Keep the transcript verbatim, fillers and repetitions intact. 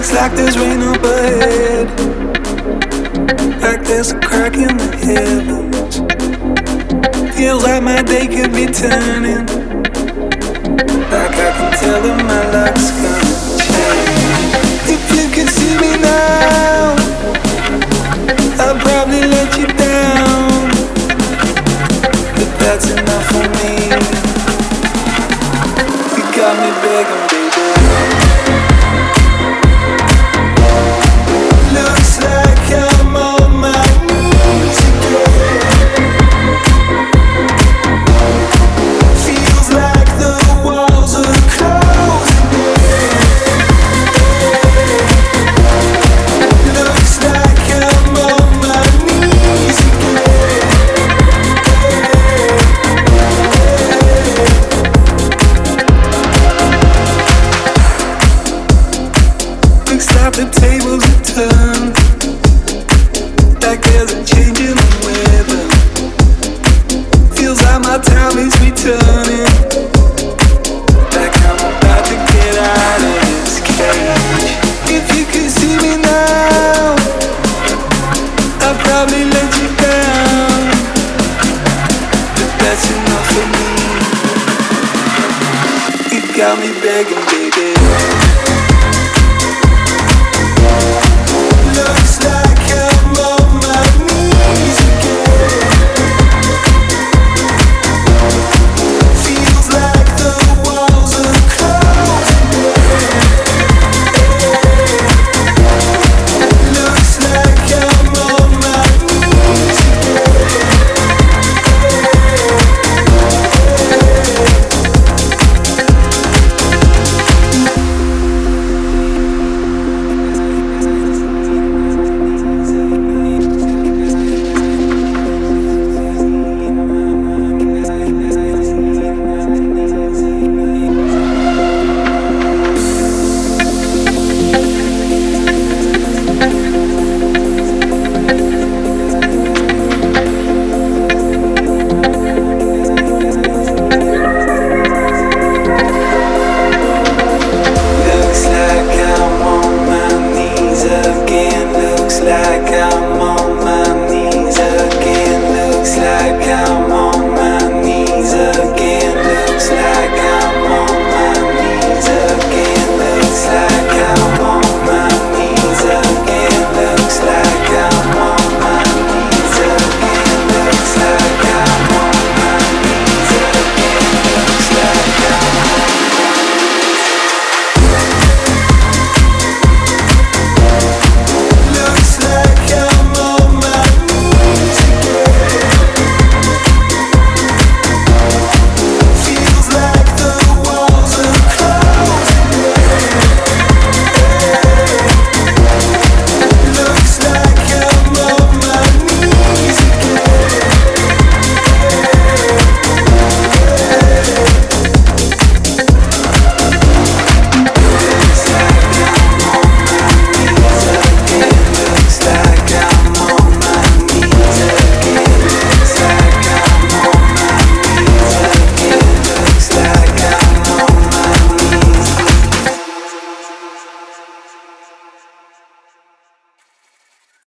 like there's rain overhead, like there's a crack in the heavens. Feels like my day could be turning, like I can tell that my luck's gonna change. If you could see me now, I'll probably let you down, but that's enough for me. You got me begging, baby. Looks like I'm on my knees again. Feels like the walls are closing in. Looks like I'm on my knees again. Looks like the tables